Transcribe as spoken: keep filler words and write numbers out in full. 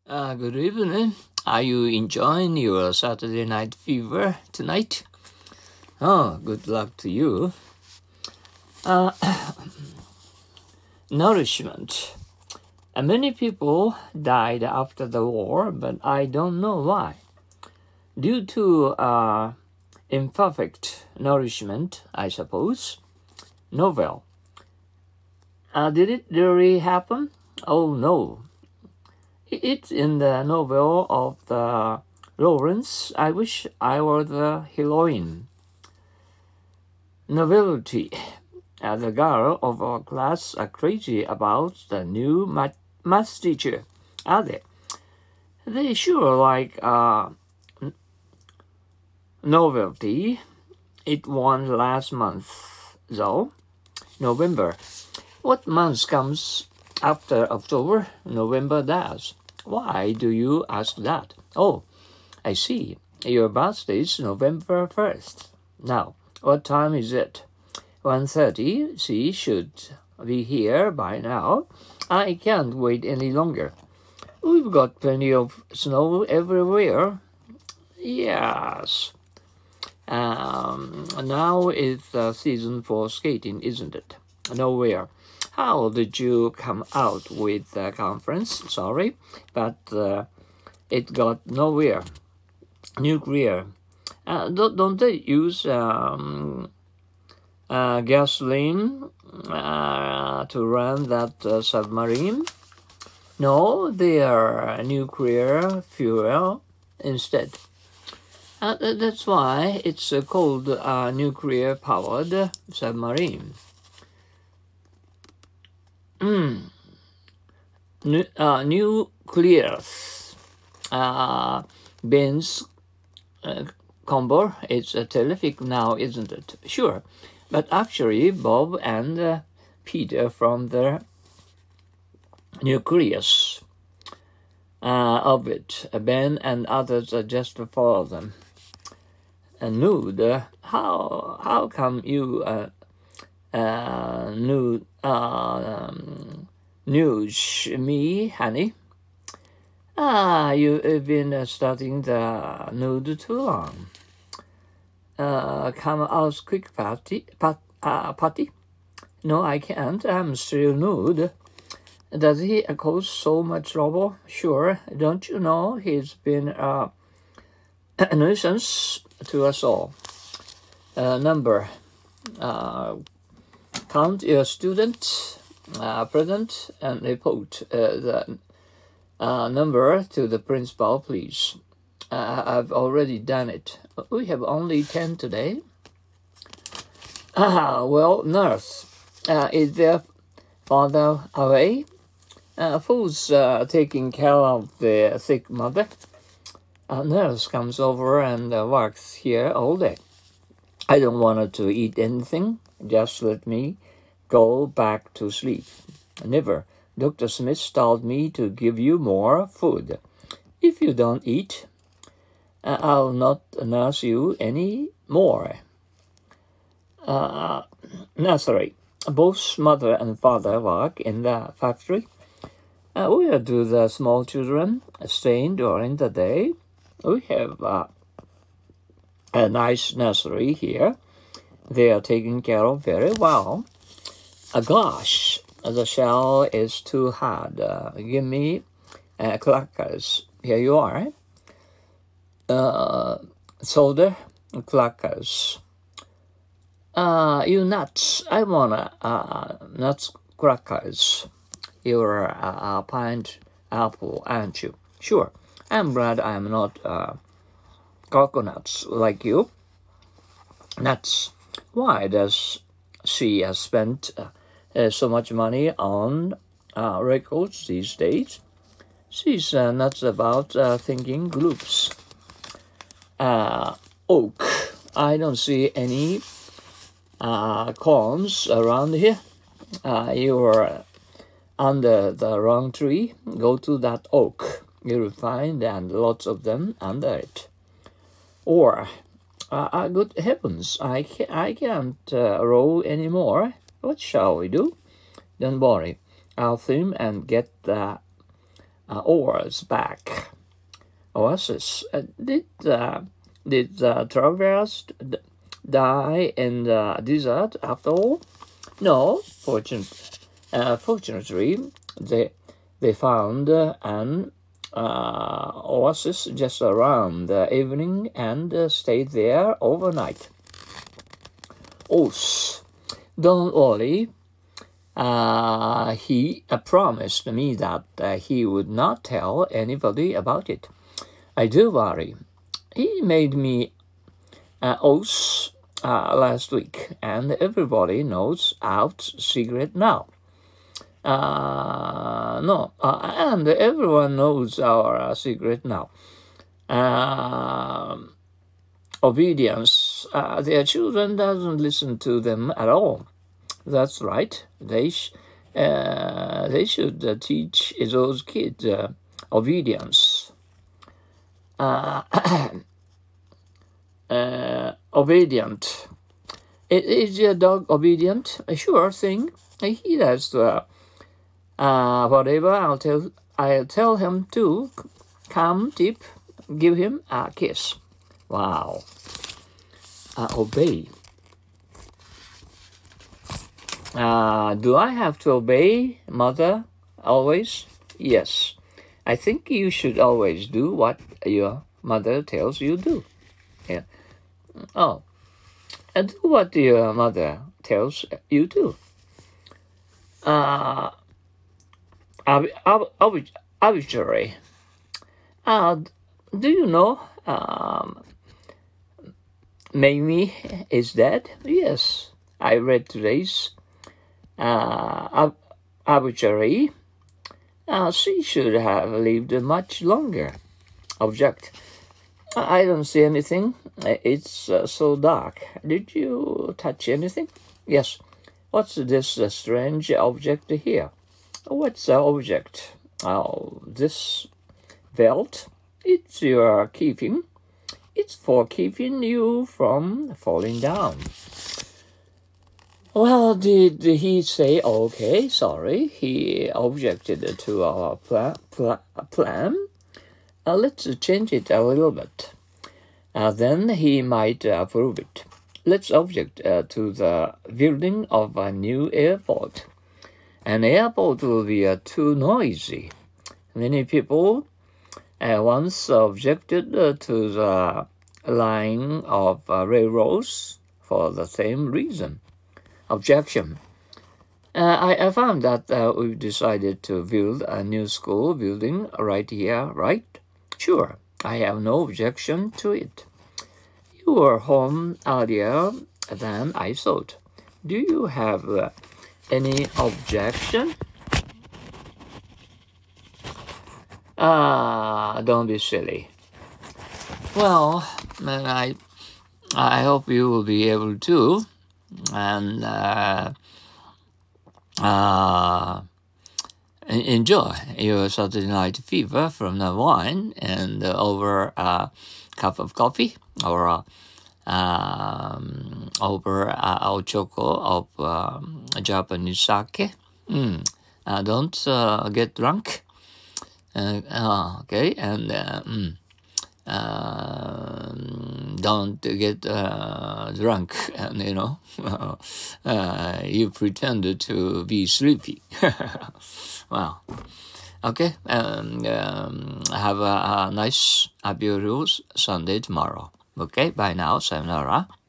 Uh, good evening. Are you enjoying your Saturday night fever tonight? Oh, good luck to you. Uh, nourishment. Uh, many people died after the war, but I don't know why. Due to uh, imperfect nourishment, I suppose. Novel. Uh, did it really happen? Oh no. It's in the novel of the Lawrence. I wish I were the heroine. Novelty. Uh, the girl of our class are crazy about the new math, math teacher, are they? They sure like uh, novelty. It won last month, though. November. What month comes after October? November does. Why do you ask that? Oh, I see. Your birthday is November first. Now, what time is it? one thirty. She should be here by now. I can't wait any longer. We've got plenty of snow everywhere. Yes. Um, now is the season for skating, isn't it? Nowhere. How did you come out with the conference? Sorry, but uh, it got nowhere. Nuclear. Uh, don't, don't they use um, uh, gasoline uh, to run that uh, submarine? No, they are nuclear fuel instead. Uh, that's why it's uh, called a uh, nuclear-powered submarine. Mm. Nu- uh, nucleus. Uh, Ben's uh, combo. It's uh, terrific now, isn't it? Sure. But actually, Bob and uh, Peter from the nucleus uh, of it. Ben and others uh, just follow them. Uh, nude. Uh, how how come you uh, uh, nude uh, um, news me, honey? Ah, you've been uh, studying the nude too long. Uh, come out quick, party, pat, uh, Patty. No, I can't. I'm still nude. Does he cause so much trouble? Sure. Don't you know he's been uh, a nuisance to us all? Uh, number. Uh, count your student, uh, present, and report uh, the uh, number to the principal, please. Uh, I've already done it. We have only ten today. Ah, well, nurse, uh, is their father away? Uh, who's uh, taking care of the sick mother? A nurse comes over and uh, works here all day. I don't want her to eat anything. Just let me go back to sleep. Never. Doctor Smith told me to give you more food. If you don't eat, uh, I'll not nurse you any more. Uh, nursery. Both mother and father work in the factory. Uh, where do the small children stay during the day? We have uh, a nice nursery here. They are taken care of very well. Uh, gosh, the shell is too hard. Uh, give me uh, crackers. Here you are. Uh, soda, crackers. Uh, you nuts. I want uh, nuts crackers. You're a, a pint apple, aren't you? Sure. I'm glad I'm not uh, coconuts like you. Nuts. Why does she uh, spend uh, uh, so much money on uh, records these days? She's uh, nuts about uh, thinking groups. Uh, oak. I don't see any uh, corns around here. Uh, you're under the wrong tree. Go to that oak. You'll find and lots of them under it. Or, uh, uh, good heavens, I, ca- I can't uh, row anymore. What shall we do? Don't worry. I'll swim and get the uh, oars back. Oasis. Uh, did uh, did the travelers d- die in the desert after all? No, fortunate, uh, fortunately, they they found uh, an uh, oasis just around the evening and uh, stayed there overnight. Oh, don't worry. Uh, he uh, promised me that uh, he would not tell anybody about it. I do worry. He made me uh, oath uh, last week, and everybody knows our secret now. Uh, no, uh, and everyone knows our uh, secret now. Uh, obedience. Uh, their children doesn't listen to them at all. That's right. They sh- uh, they should uh, teach those kids uh, obedience. Uh, uh, obedient. Is your dog obedient? A sure thing. He does uh, uh, whatever I'll tell. I'll tell him to. Come deep. Give him a kiss. Wow. Uh, obey. Uh, do I have to obey mother always? Yes. I think you should always do what your mother tells you to do. Yeah. Oh. And do what your mother tells you to. Uh, ob- ob- ob- obituary. Uh, do you know um, Mamie is dead? Yes. I read today's uh, obituary. Uh, she should have lived much longer. Object. I don't see anything. It's uh, so dark. Did you touch anything? Yes. What's this uh, strange object here? What's the object? Oh, this belt. It's your keeping. It's for keeping you from falling down. Well, did he say, okay, sorry, he objected to our pla- pla- plan? Uh, let's change it a little bit. Uh, then he might uh, approve it. Let's object uh, to the building of a new airport. An airport will be uh, too noisy. Many people uh, once objected uh, to the line of uh, railroads for the same reason. Objection. Uh, I, I found that uh, we've decided to build a new school building right here, right? Sure, I have no objection to it. You were home earlier than I thought. Do you have uh, any objection? Ah, uh, don't be silly. Well, I, I hope you will be able to. And uh, uh, enjoy your Saturday night fever from the wine and uh, over a cup of coffee or uh, um, over a uh, choco of um, Japanese sake. Mm. Uh, don't uh, get drunk. Uh, uh, okay, and uh, mm. Uh, don't get uh, drunk and, you know, uh, you pretend to be sleepy. Wow. Okay, and um, have a, a nice, a beautiful Sunday tomorrow. Okay, bye now. Sayonara.